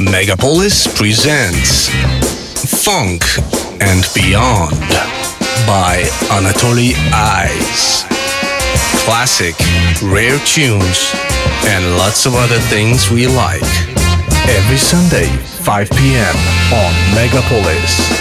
Megapolis presents Funk and Beyond by Anatoly Eyes. Classic, rare tunes, and lots of other things we like. Every Sunday, 5 p.m. on Megapolis.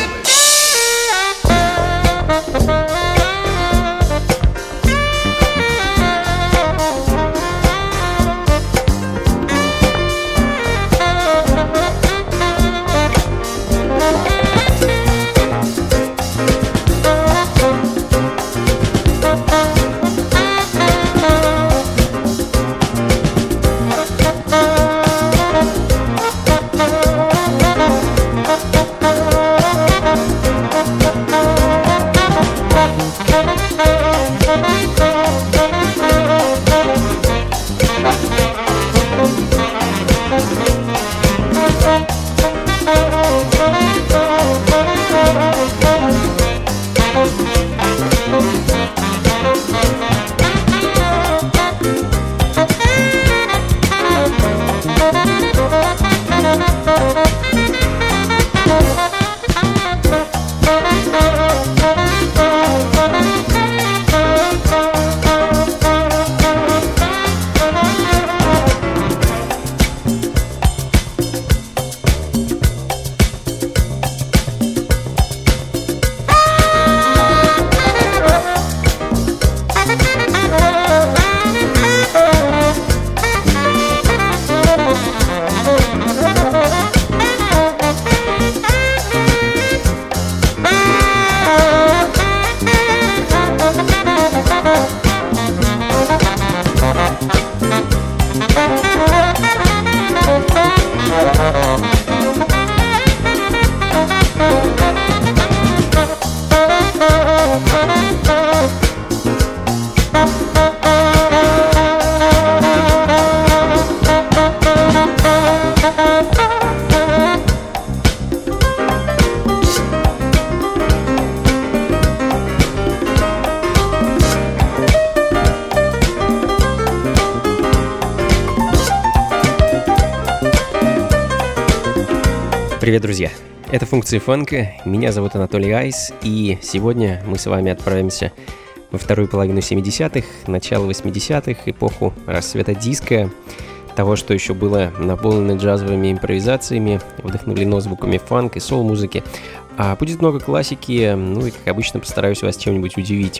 Привет, друзья! Это «Функции фанка», меня зовут Анатолий Айс, и сегодня мы с вами отправимся во вторую половину 70-х, начало 80-х, эпоху расцвета диска, того, что еще было наполнено джазовыми импровизациями, вдохновлено звуками фанк и соул-музыки. Будет много классики, ну и, как обычно, постараюсь вас чем-нибудь удивить.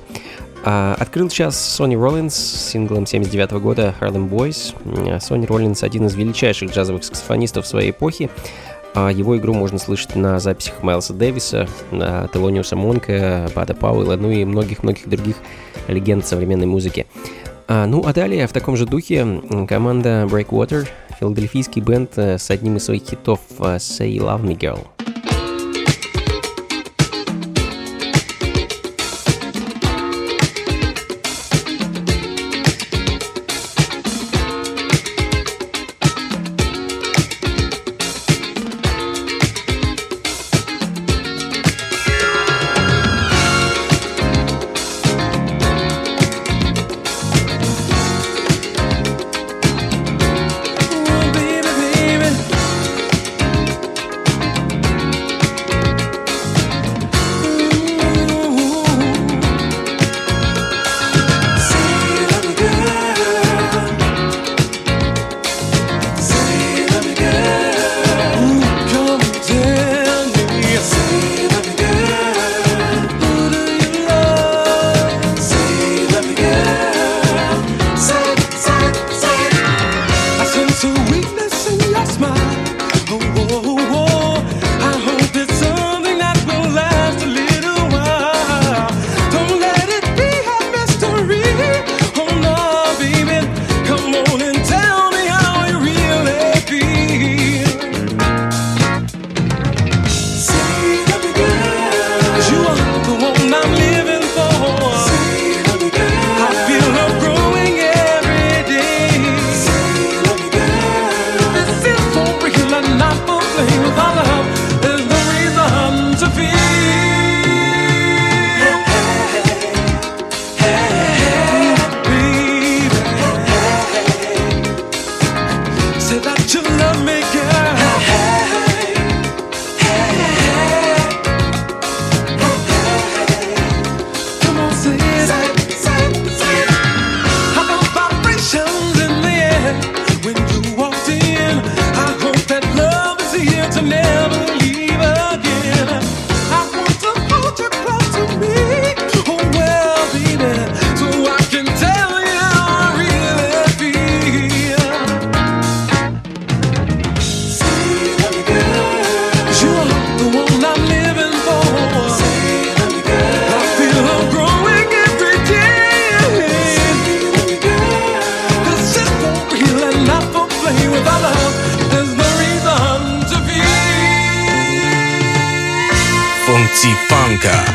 Открыл сейчас Sonny Rollins с синглом 79 года «Harlem Boys». Sonny Rollins — один из величайших джазовых саксофонистов своей эпохи. Его игру можно слышать на записях Майлса Дэвиса, Телониуса Монка, Бада Пауэлла, ну и многих-многих других легенд современной музыки. Ну а далее, в таком же духе, команда Breakwater, филадельфийский бенд с одним из своих хитов «Say Love Me Girl». Funky Funka.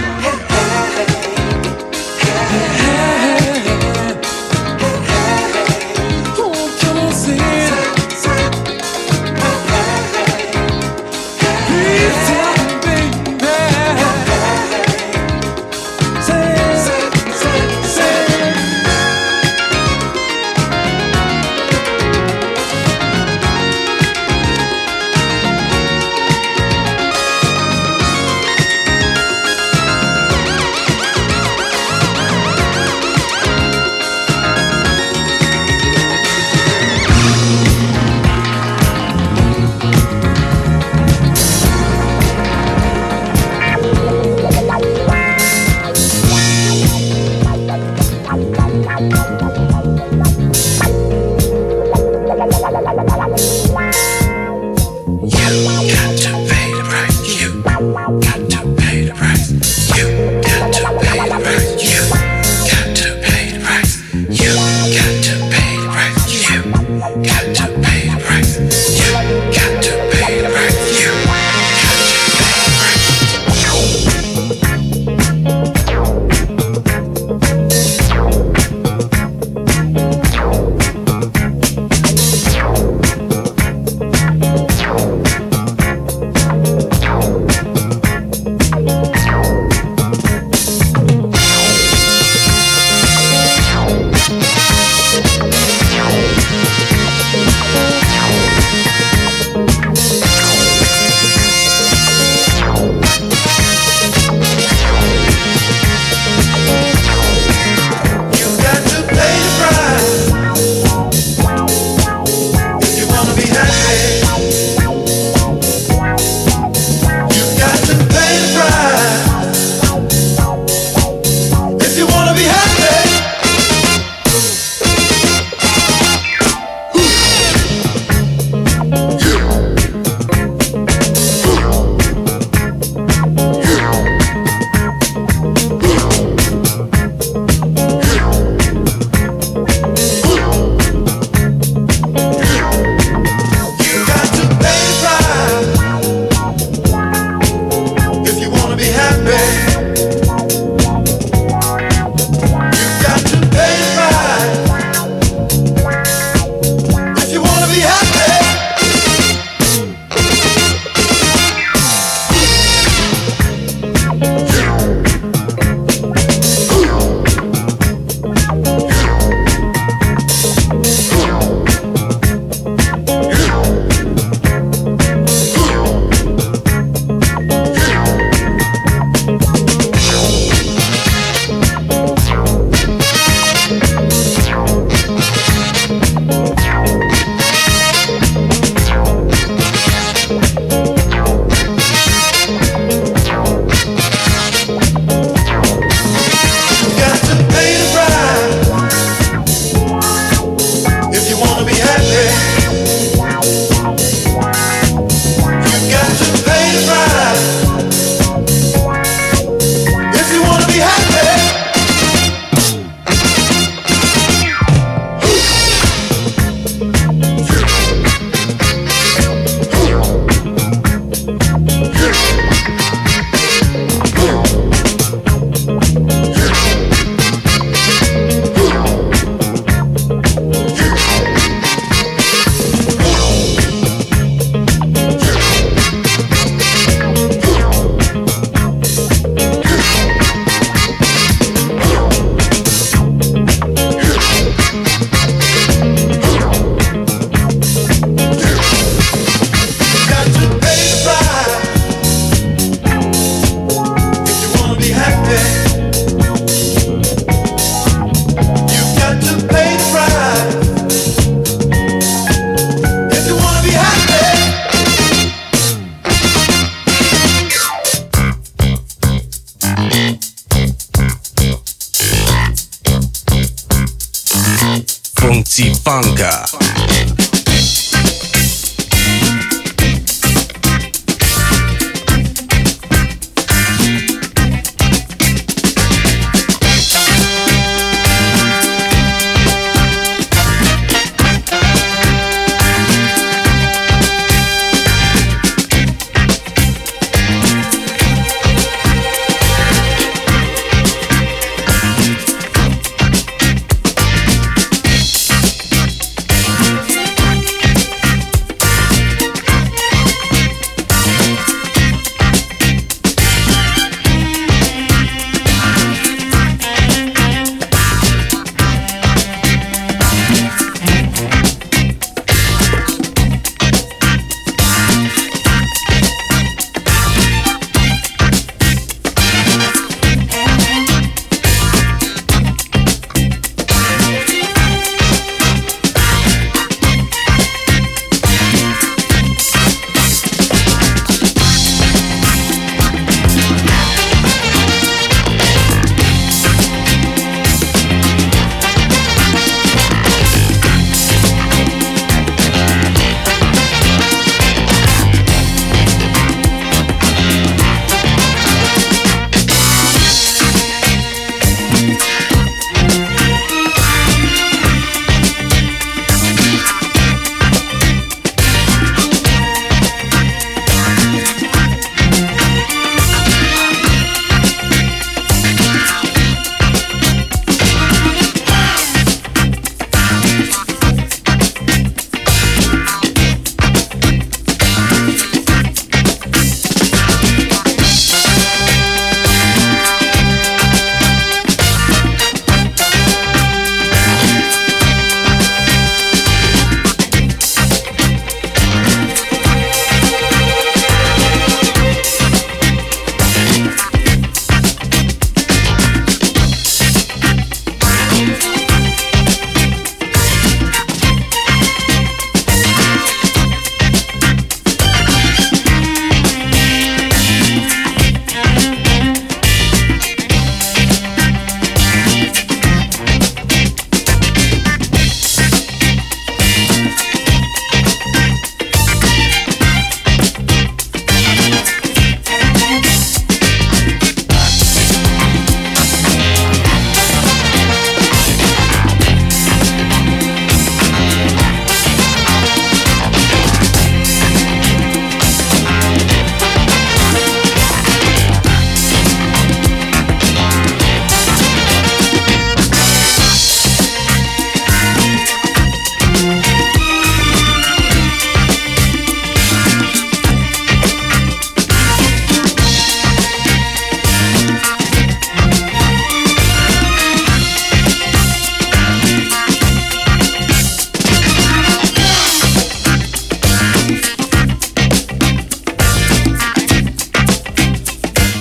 Funky Funka.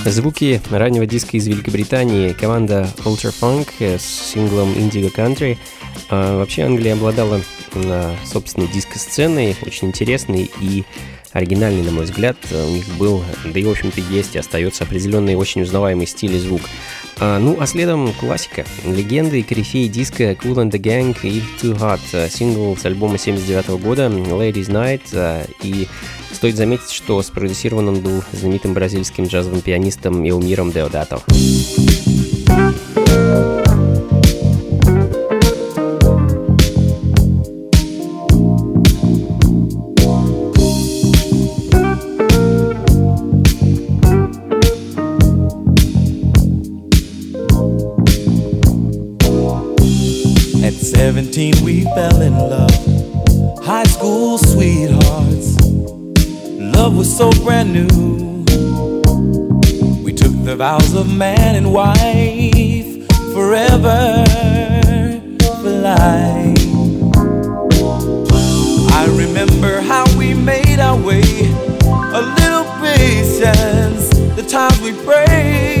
Звуки раннего диска из Великобритании, команда Ultra Funk с синглом Indigo Country. Вообще Англия обладала собственной диско-сценой, очень интересной и оригинальный, на мой взгляд. У них был, да и в общем-то есть и остается определенный очень узнаваемый стиль и звук. А следом классика. Легенды и корифеи диска Kool and the Gang и Too Hot. Сингл с альбома 79 года Ladies Night. И стоит заметить, что спродюсирован он был знаменитым бразильским джазовым пианистом Элмиром Деодато. At 17 we fell in love, high school sweethearts. Love was so brand new. We took the vows of man and wife, forever, for life. I remember how we made our way, a little patience, the times we prayed.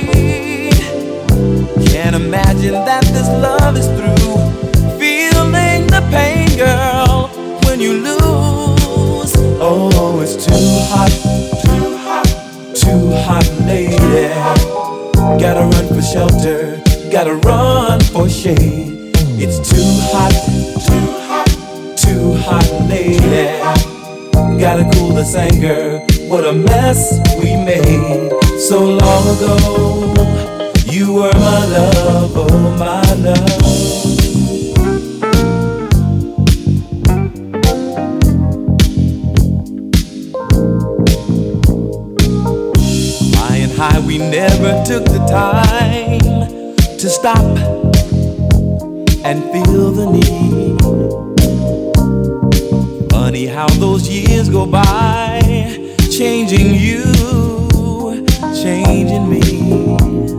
Can't imagine that this love is through. Feeling the pain, girl, when you lose. Oh, it's too hot, too hot, too hot, lady. Gotta run for shelter, gotta run for shade. It's too hot, too hot, too hot, lady. Gotta cool this anger, what a mess we made so long ago. You were my love, oh my love. Flying high, we never took the time to stop and feel the need. Funny how those years go by, changing you, changing me.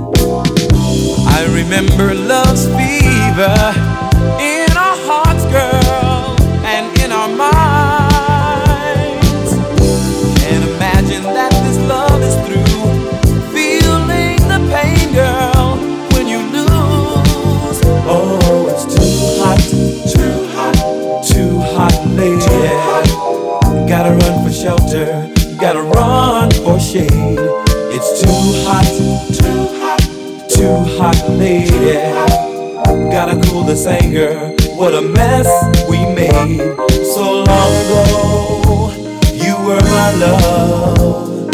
I remember love's fever in our hearts, girl, and in our minds. Can't imagine that this love is through. Feeling the pain, girl, when you lose. Oh, it's too hot, too hot, too hot, lady. Gotta run for shelter, gotta run for shade. It's too hot, too hot, too hot, lady. Gotta cool this anger, what a mess we made so long ago. You were my love,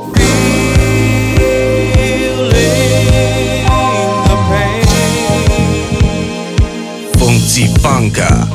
feeling the pain. Funky Funka.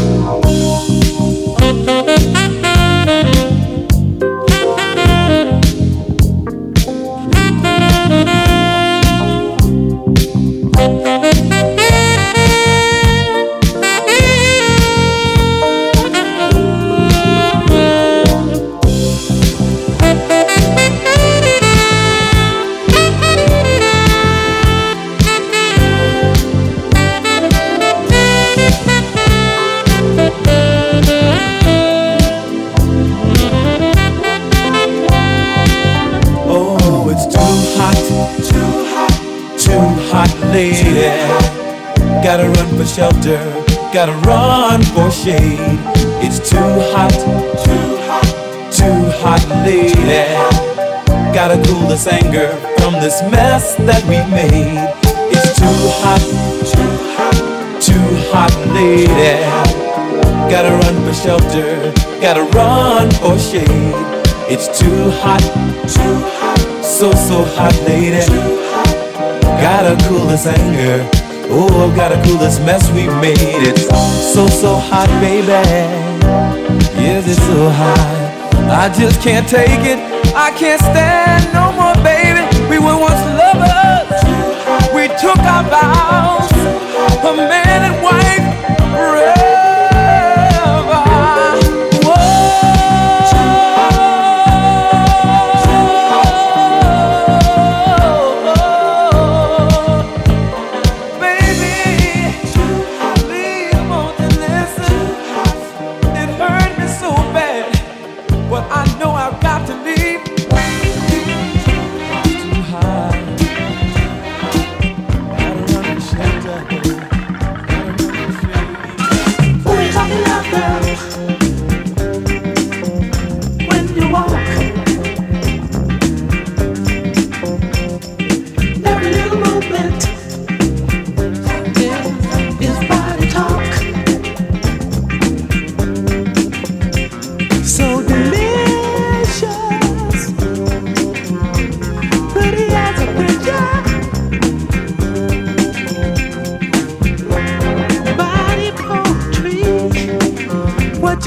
Lady, gotta run for shelter, gotta run for shade. It's too hot, too hot, too hot, lady. Gotta cool this anger from this mess that we made. It's too hot, too hot, too hot, lady. Gotta run for shelter, gotta run for shade. It's too hot, so hot, lady. Gotta cool this anger, oh, gotta cool this mess we made. It's so hot, baby. Yes, it's so hot. I just can't take it, I can't stand no more, baby. We were once lovers, we took our vows, a man and wife forever.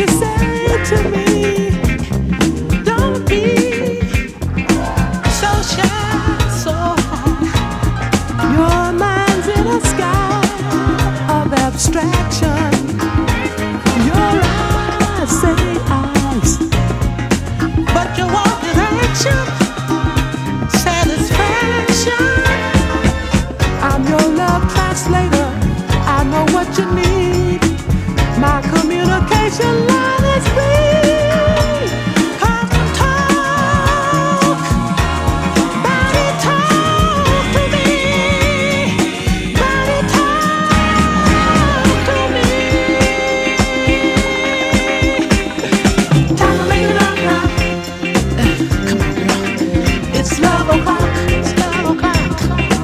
you say to me? Don't be so shy, so high. Your mind's in a sky of abstraction. Your eyes say eyes, but your walk is action, satisfaction. I'm your love translator. I know what you need. My communication line is free. Come talk, body talk to me. Body talk to me. Time to make it up now. Come on, girl. It's love o'clock. It's love o'clock.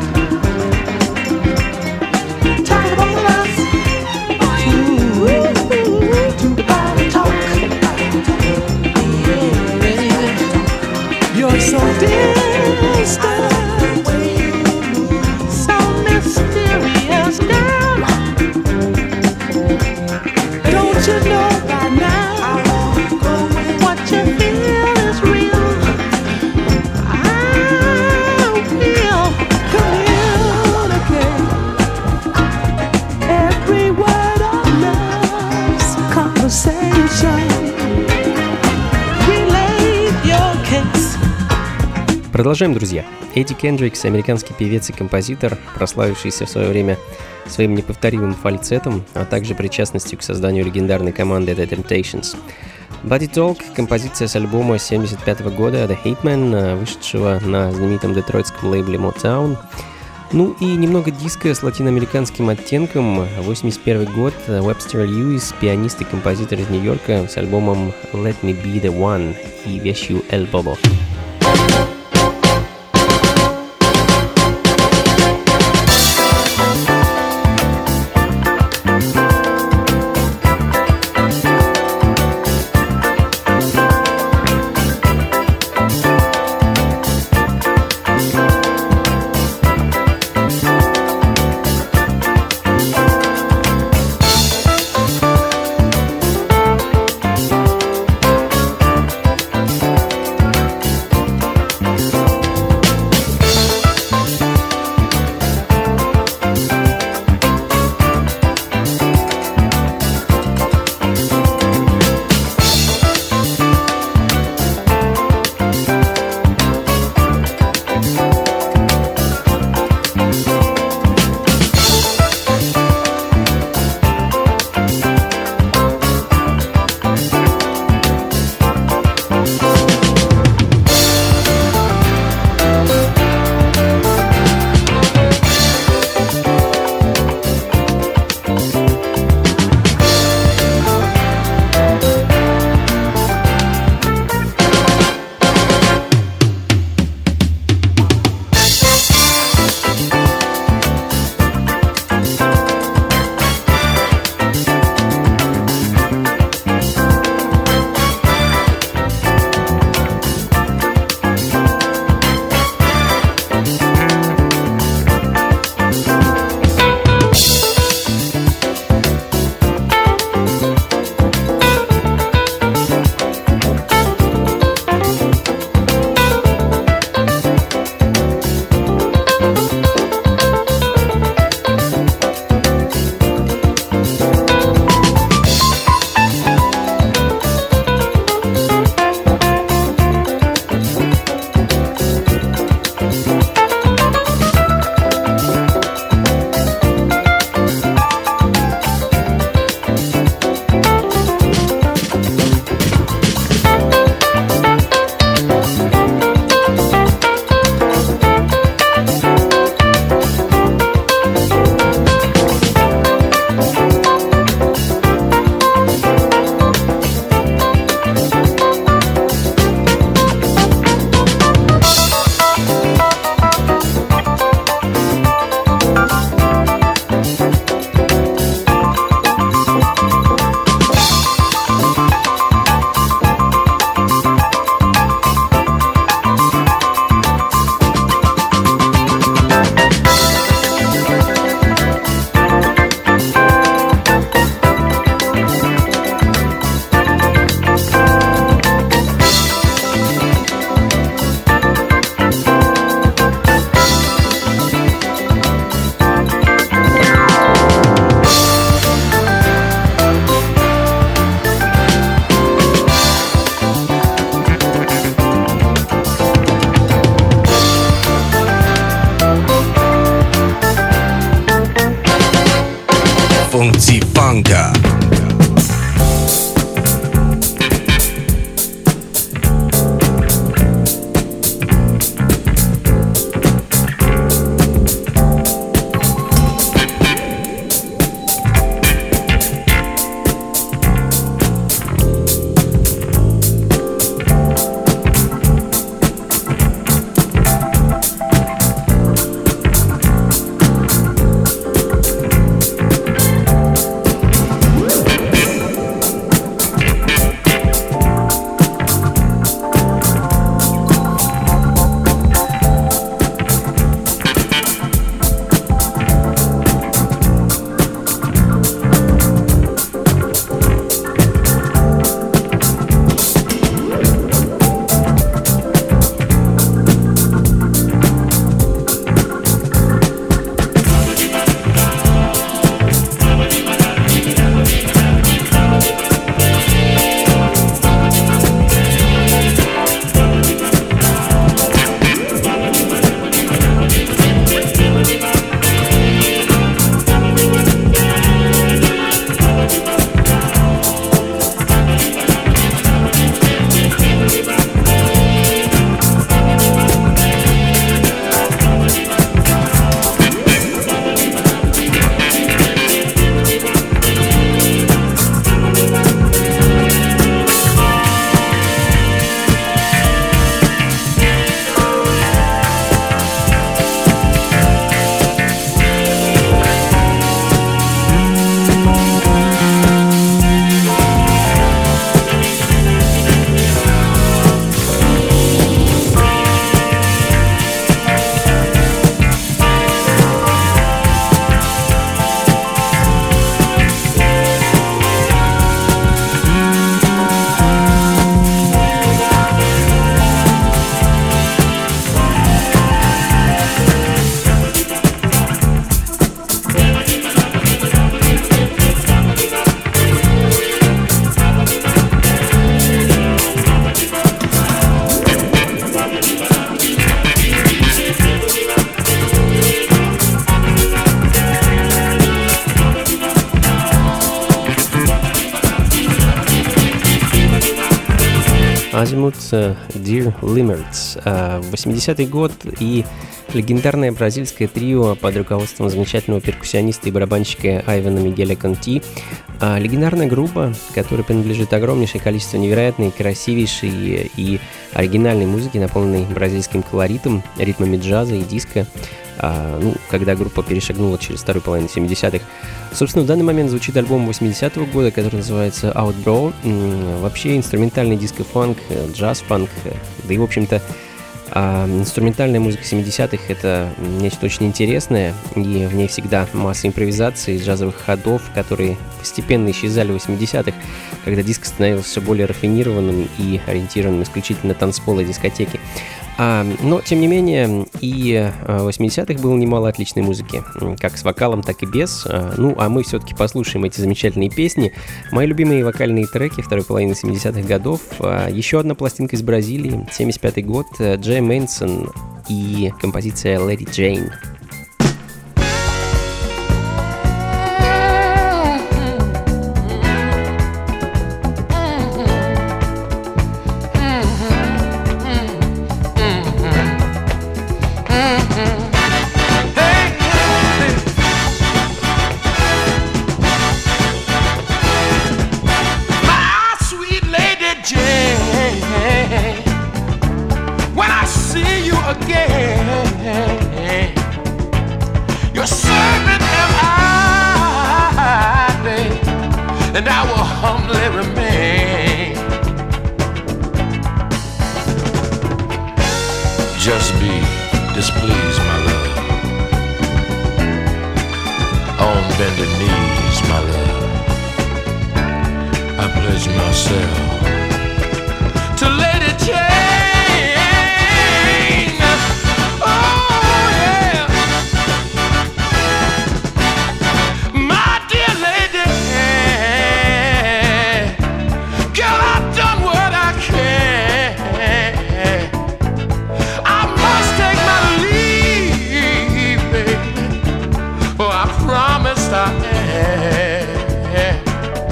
Time for both of us to body talk. You're so distant, so mysterious, girl. Don't you know by now what you feel is real? I will communicate every word of love's conversation. Relate your case. Продолжаем, друзья. Эдди Кендрикс — американский певец и композитор, прославившийся в свое время своим неповторимым фальцетом, а также причастностью к созданию легендарной команды The Temptations. Body Talk — композиция с альбома 1975 года The Hitman, вышедшего на знаменитом детройтском лейбле Motown. Ну и немного диска с латиноамериканским оттенком. 1981 год, Webster Lewis, пианист и композитор из Нью-Йорка, с альбомом Let Me Be The One и вещью El Bobo. Азимут Dear Limits. 80-й год и легендарное бразильское трио под руководством замечательного перкуссиониста и барабанщика Айвана Мигеля Конти. Легендарная группа, которая принадлежит огромнейшее количество невероятной, красивейшей и оригинальной музыки, наполненной бразильским колоритом, ритмами джаза и диско. Когда группа перешагнула через вторую половину 70-х. Собственно, в данный момент звучит альбом 80-го года, который называется Outbrow. Вообще инструментальный диско-фанк, джаз-фанк, да и, в общем-то, инструментальная музыка 70-х — это нечто очень интересное, и в ней всегда масса импровизаций, джазовых ходов, которые постепенно исчезали в 80-х, когда диско становился все более рафинированным и ориентированным исключительно на танцполы и дискотеки. Но, тем не менее, и в 80-х было немало отличной музыки, как с вокалом, так и без. А мы все-таки послушаем эти замечательные песни. Мои любимые вокальные треки второй половины 70-х годов. Еще одна пластинка из Бразилии, 75-й год, Джей Мэнсон и композиция «Lady Jane». Just be displeased, my love. On bended knees, my love. I pledge myself to Lady Jane. Oh yeah, my dear lady. Girl, I've done what I can. Promised I had.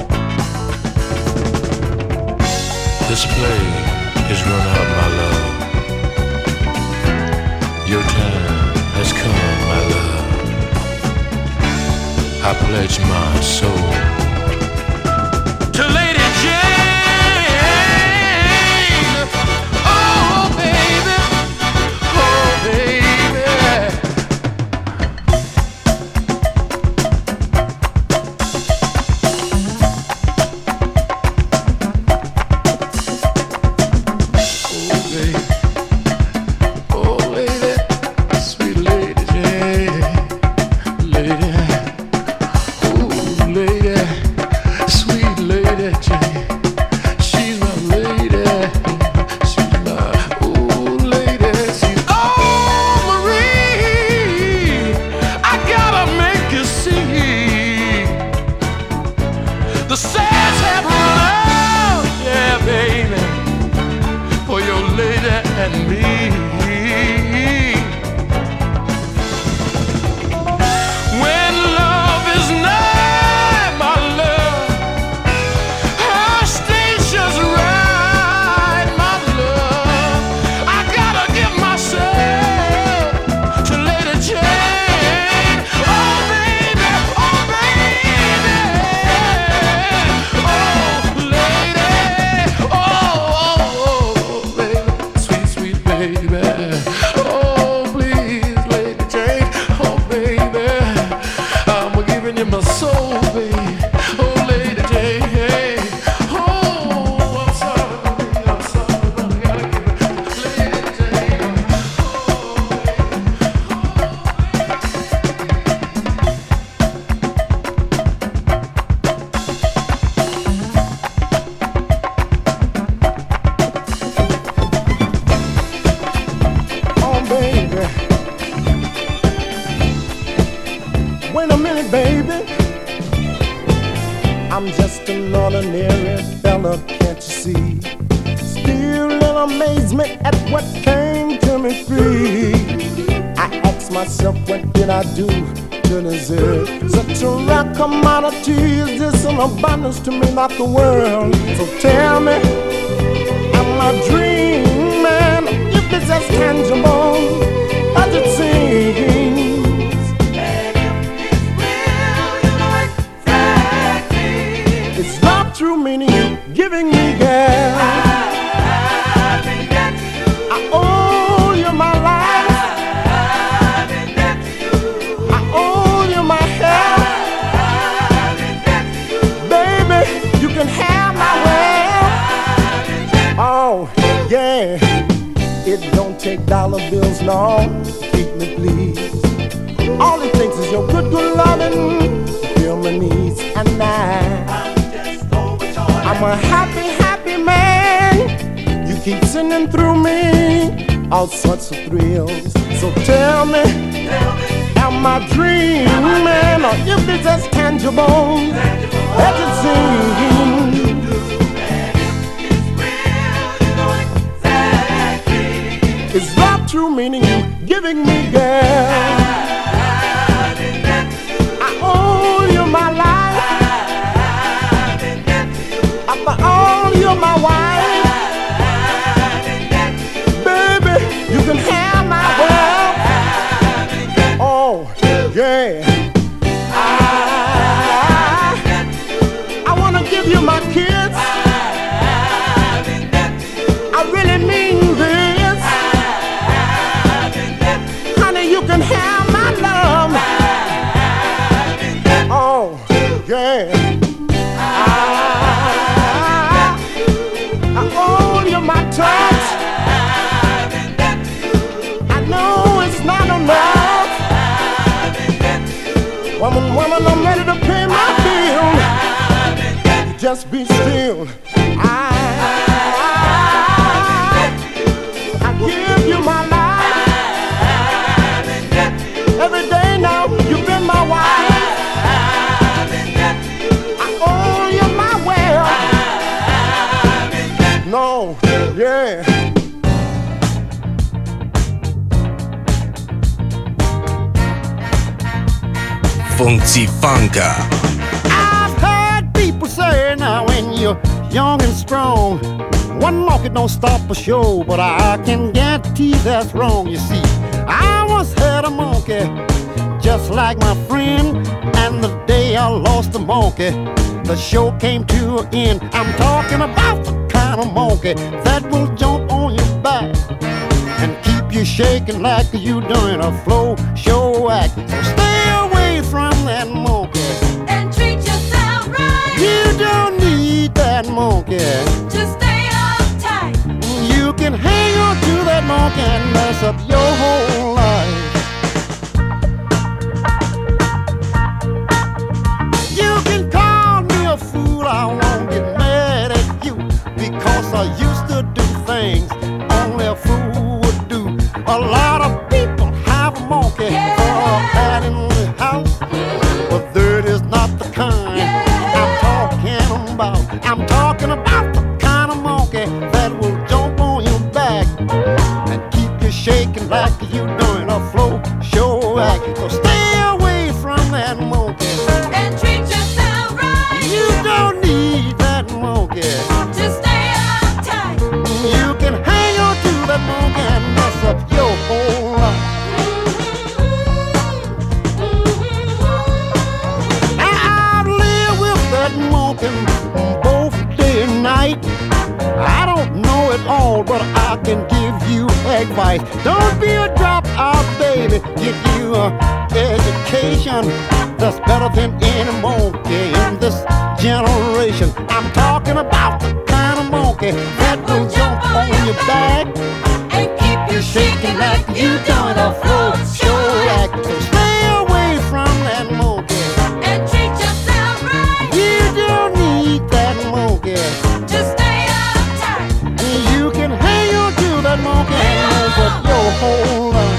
This play is run out, my love. Your time has come, my love. I pledge my soul to Lady Jane. Oh baby, oh baby. Abundance to me, not the world. So tell me, am I Yeah, it don't take dollar bills, no, to keep me pleased. All it takes is your good loving, fill my needs, and I'm a happy, happy man. You keep singing through me all sorts of thrills. So tell me, am I dreaming, or if it's as tangible as it seems? Is love true, meaning you giving me, girl? I owe you my life. I owe you my wife. Baby, you can have my world. Oh, yeah. I wanna give you my kids. I really mean this. Honey, you can have my love. Oh, yeah. I owe you my touch. I know it's not enough. Woman, I'm ready to pay my bill. Just be still. I give you my life. Every day now, you've been my wife. I owe you my world. No, yeah. Funky Funka. I've heard people say now when you're young and strong, one monkey don't stop a show, but I can guarantee that's wrong. You see, I once had a monkey just like my friend, and the day I lost the monkey, the show came to an end. I'm talking about the kind of monkey that will jump on your back and keep you shaking like you doing a flow show act. So stay away from that monkey and treat yourself right. You don't need that monkey. Just stay uptight. You can hang on to that monkey and mess up your whole life. You can call me a fool, I won't get mad at you, because I used to do things only a fool would do. A lot of people have a monkey or a cat in the house, but that is not the kind I'm talking about. I'm talking about the kind of monkey that will jump on your back and keep you shaking like you doing a flow show act. So stay away from that monkey And treat yourself right. You don't need that monkey. Just stay uptight. You can hang on to that monkey and mess up your whole life. I've lived with that monkey both day and night. I don't know it all, but I can give you advice. Don't be a dropout, baby. Get you an education that's better than any monkey in this generation. I'm talking about the kind of monkey that will jump on your back And keep you shaking like you doing a flow show act. So stay away from that monkey. And treat yourself right. You don't need that monkey. Just stay uptight. You can hang on to that monkey and mess up your whole life.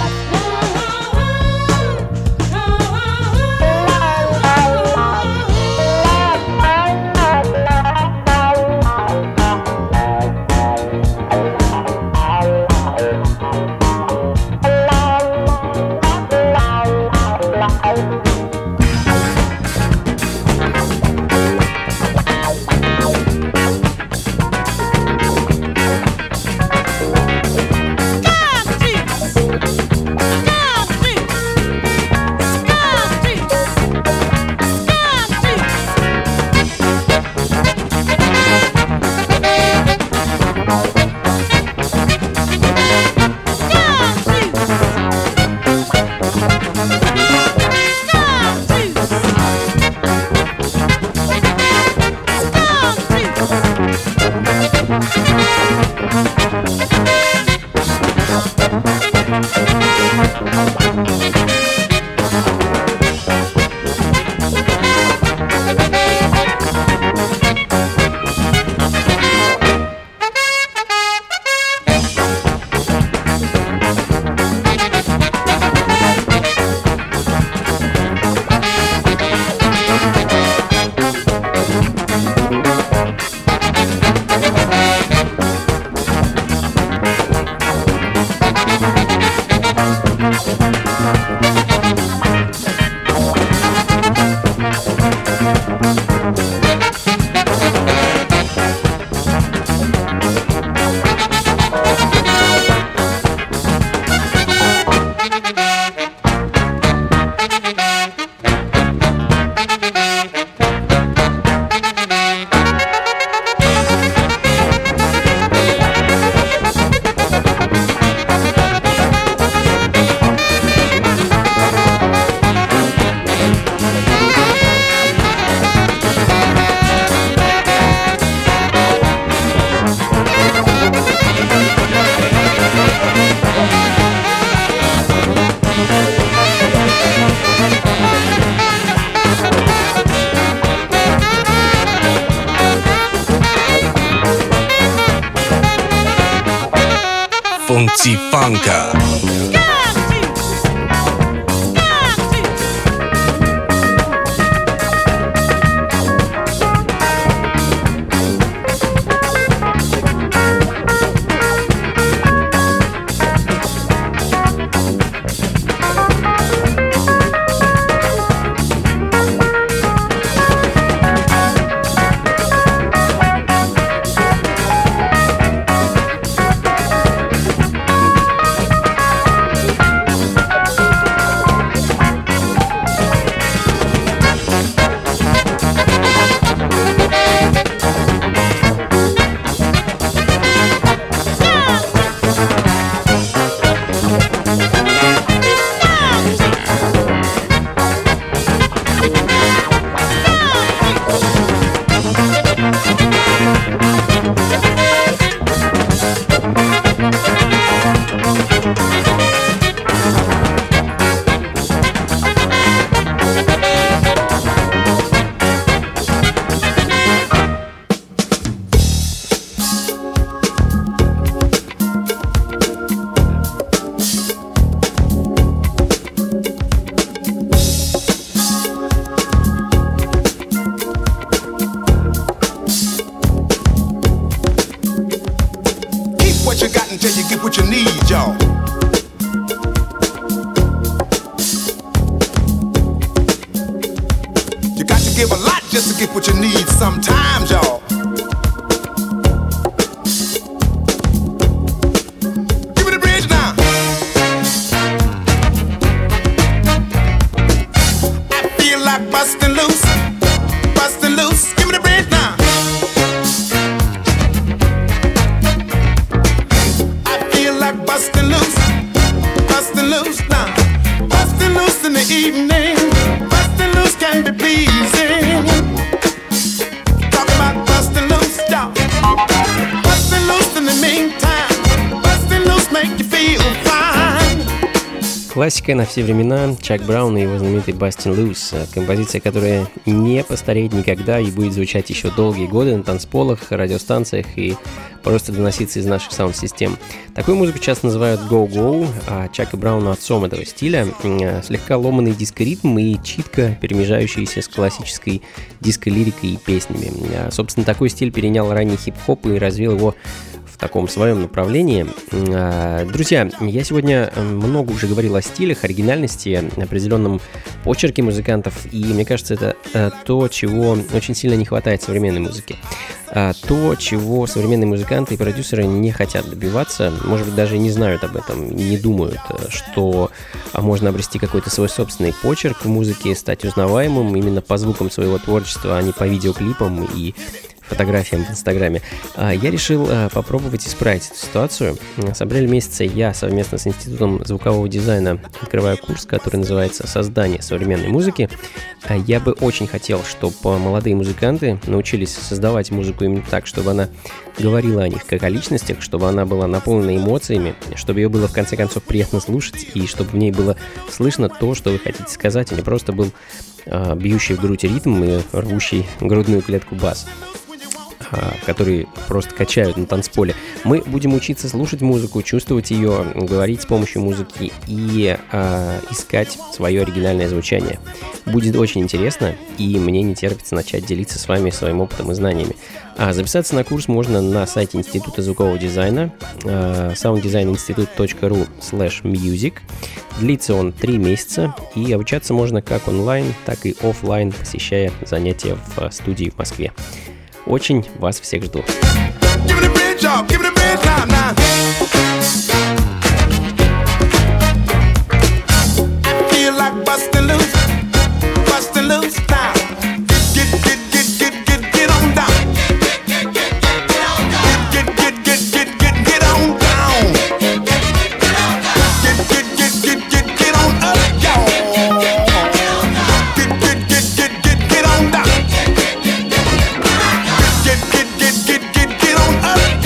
Skunk juice. Funky Funka. Классика на все времена, Чак Браун и его знаменитый Bustin' Loose, композиция, которая не постареет никогда и будет звучать еще долгие годы на танцполах, радиостанциях и просто доноситься из наших саунд-систем. Такую музыку часто называют go-go, а Чака Брауна отцом этого стиля. Слегка ломаный диско-ритм и читко перемежающийся с классической диско-лирикой и песнями. Собственно, такой стиль перенял ранний хип-хоп и развил его в таком своем направлении. Друзья, я сегодня много уже говорил о стилях, оригинальности, определенном почерке музыкантов, и мне кажется, это то, чего очень сильно не хватает в современной музыке. То, чего современные музыканты и продюсеры не хотят добиваться, может быть, даже не знают об этом, не думают, что можно обрести какой-то свой собственный почерк в музыке, стать узнаваемым именно по звукам своего творчества, а не по видеоклипам и фотографиям в Инстаграме. Я решил попробовать исправить эту ситуацию. С апреля месяца я совместно с Институтом звукового дизайна открываю курс, который называется «Создание современной музыки». Я бы очень хотел, чтобы молодые музыканты научились создавать музыку именно так, чтобы она говорила о них как о личностях, чтобы она была наполнена эмоциями, чтобы ее было в конце концов приятно слушать и чтобы в ней было слышно то, что вы хотите сказать, а не просто был бьющий в грудь ритм и рвущий грудную клетку бас, которые просто качают на танцполе. Мы будем учиться слушать музыку, чувствовать ее, говорить с помощью музыки и искать свое оригинальное звучание. Будет очень интересно, и мне не терпится начать делиться с вами своим опытом и знаниями. Записаться на курс можно на сайте Института звукового дизайна sounddesignинstitute.ru/music. Длится он 3 месяца, и обучаться можно как онлайн, так и офлайн, посещая занятия в студии в Москве. Очень вас всех жду. Get on up.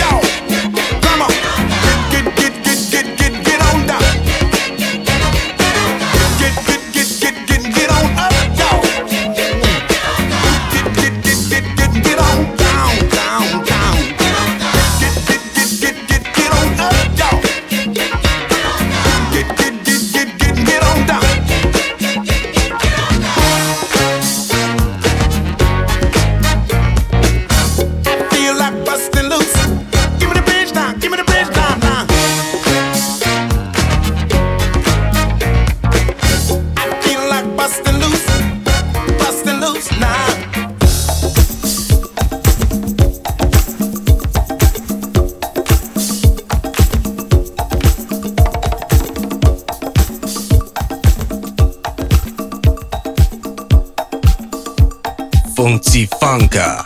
Funky Funka.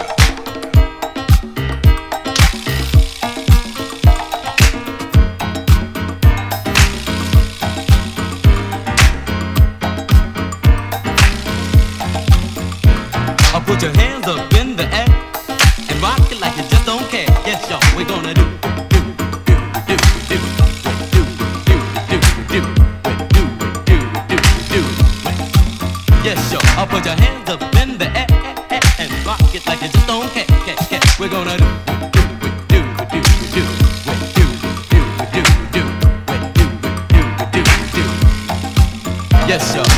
Put your hands up in the air and rock it like you just don't care. Yes, y'all, we're gonna do. Yes, y'all, I'll put your hands up in the air and rock it like you just don't care. We're gonna do. Yes, y'all.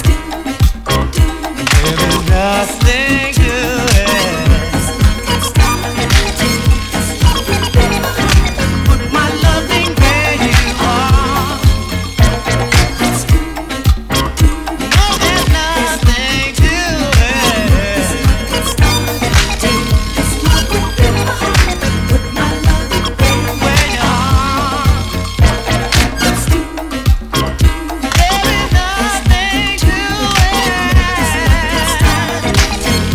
There's nothing to it. Put my loving where you are. No, there's nothing to it. Put my loving where you are. There is nothing to it.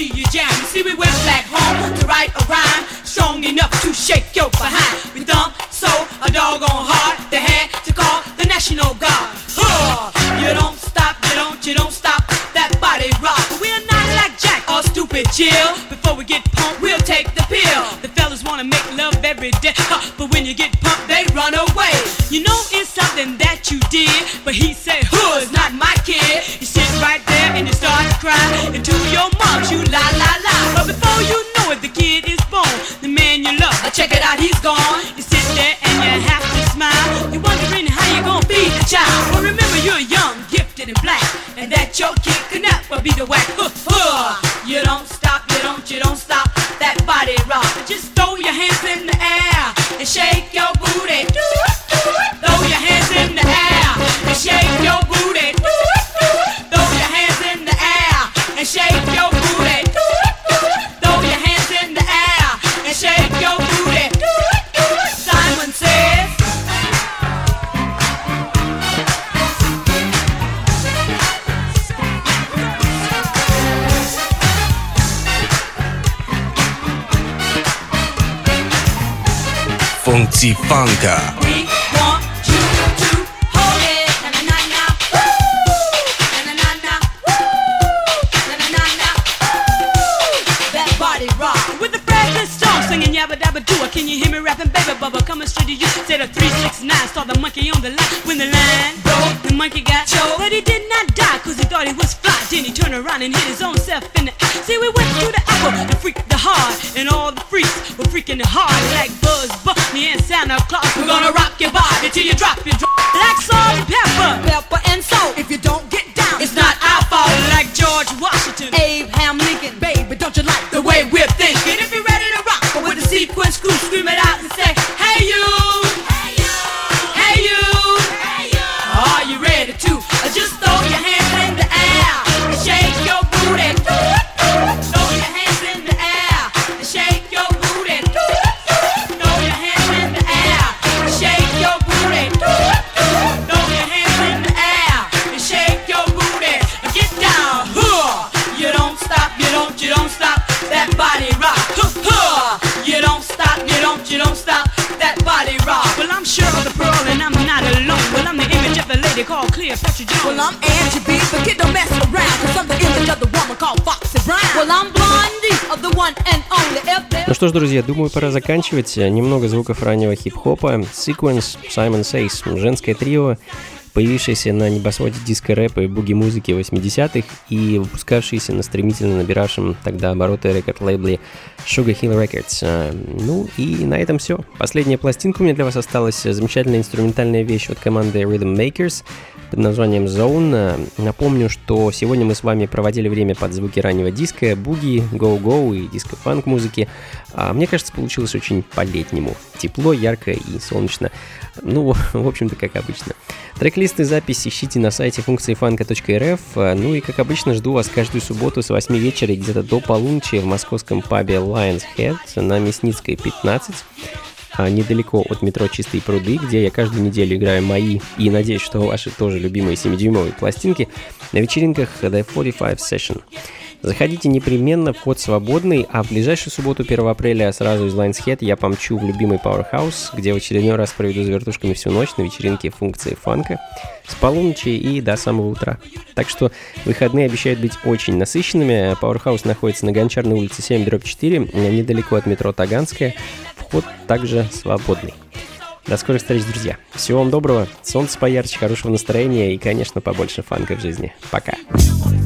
see you jam. You see, we went back home to write a rhyme strong enough to shake your behind. We thumped so a doggone hard, they had to call the National Guard. You don't stop, you don't stop that body rock. We're not like Jack or Stupid Jill. Before we get pumped, we'll take the pill. The fellas wanna make love every day, but when you get pumped, they run away. You know it's something that you did, but he said, it's not my kid. You sit right there and you start to cry, and to your mom you la la la. But before you know it, the kid is born. The man you love, check it out, he's gone. You sit there and you have to smile. You're wondering how you gonna feed the child. But remember you're young, gifted and black, and that your kid could never be the whack. You don't stop, you don't stop that body rock. Just throw your hands in the air and shake your booty. Throw your hands in the air and shake your booty. Throw your hands in the air and shake your booty. Throw your hands in the air and shake your booty. Simon says, Funky Funka. we want you to hold it. Na-na-na-na. Na-na-na-na. Na-na-na-na. That body rock. With the Fredless song singing yabba dabba doo. Can you hear me rapping, baby bubba? Coming straight to you. Said a 369. Saw the monkey on the line. When the line broke, the monkey got choked. But he did not die, cause he thought he was fly. Then he turned around and hit his own self in the eye. See, we went to the apple and freaked the hard. And all the freaks were freaking the hard. Like Buzz Bunny and Santa Claus. We're gonna rock your body till you drop your drop. Like salt and pepper and salt. If you don't get down, it's not our fault. Like George Washington, Abraham Lincoln. Baby, don't you like the way we're thinking? If you're ready to rock with the sequence crew, scream it out and say, hey you, hey you, hey you, hey you. Are you ready to just throw your hands in the air and shake your booty? Throw your hands in the air and shake your booty. Throw your hands in the air and shake your booty. Throw your hands in the air and shake your booty. Get down, you don't stop, you don't stop that body rock. You don't stop, you don't stop that body rock. Well, I'm sure of the pearl and I'm not alone. Well, I'm the image of a lady called Cleopatra Jones. Well, I'm Angie B, but kid don't mess around, cause I'm the image of the woman called Foxy Brown. Well, I'm Blondie of the one and only. Ну что ж, друзья, думаю, пора заканчивать. Немного звуков раннего хип-хопа. Sequence, Simon Says, женское трио, появившееся на небосводе диско-рэпа и буги-музыки 80-х и выпускавшиеся на стремительно набиравшем тогда обороты рекорд-лейбле Sugar Hill Records. Ну и на этом все. Последняя пластинка у меня для вас осталась. Замечательная инструментальная вещь от команды Rhythm Makers под названием Zone. Напомню, что сегодня мы с вами проводили время под звуки раннего диска, буги, гоу-гоу и диско-фанк музыки. Мне кажется, получилось очень по-летнему. Тепло, ярко и солнечно. Ну, в общем-то, как обычно. Трек-лист и запись ищите на сайте функциифанка.рф. Ну и, как обычно, жду вас каждую субботу с 8 вечера и где-то до полуночи в московском пабе Lion's Head на Мясницкой, 15. Недалеко от метро Чистые пруды, где я каждую неделю играю мои и, надеюсь, что ваши тоже любимые 7-дюймовые пластинки на вечеринках The 45 Session. Заходите непременно, вход свободный, а в ближайшую субботу, 1 апреля, сразу из Lion's Head я помчу в любимый Powerhouse, где в очередной раз проведу с вертушками всю ночь на вечеринке функции фанка с полуночи и до самого утра. Так что выходные обещают быть очень насыщенными. Powerhouse находится на Гончарной улице 7/4, недалеко от метро Таганская. Вход также свободный. До скорых встреч, друзья. Всего вам доброго, солнца поярче, хорошего настроения и, конечно, побольше фанка в жизни. Пока.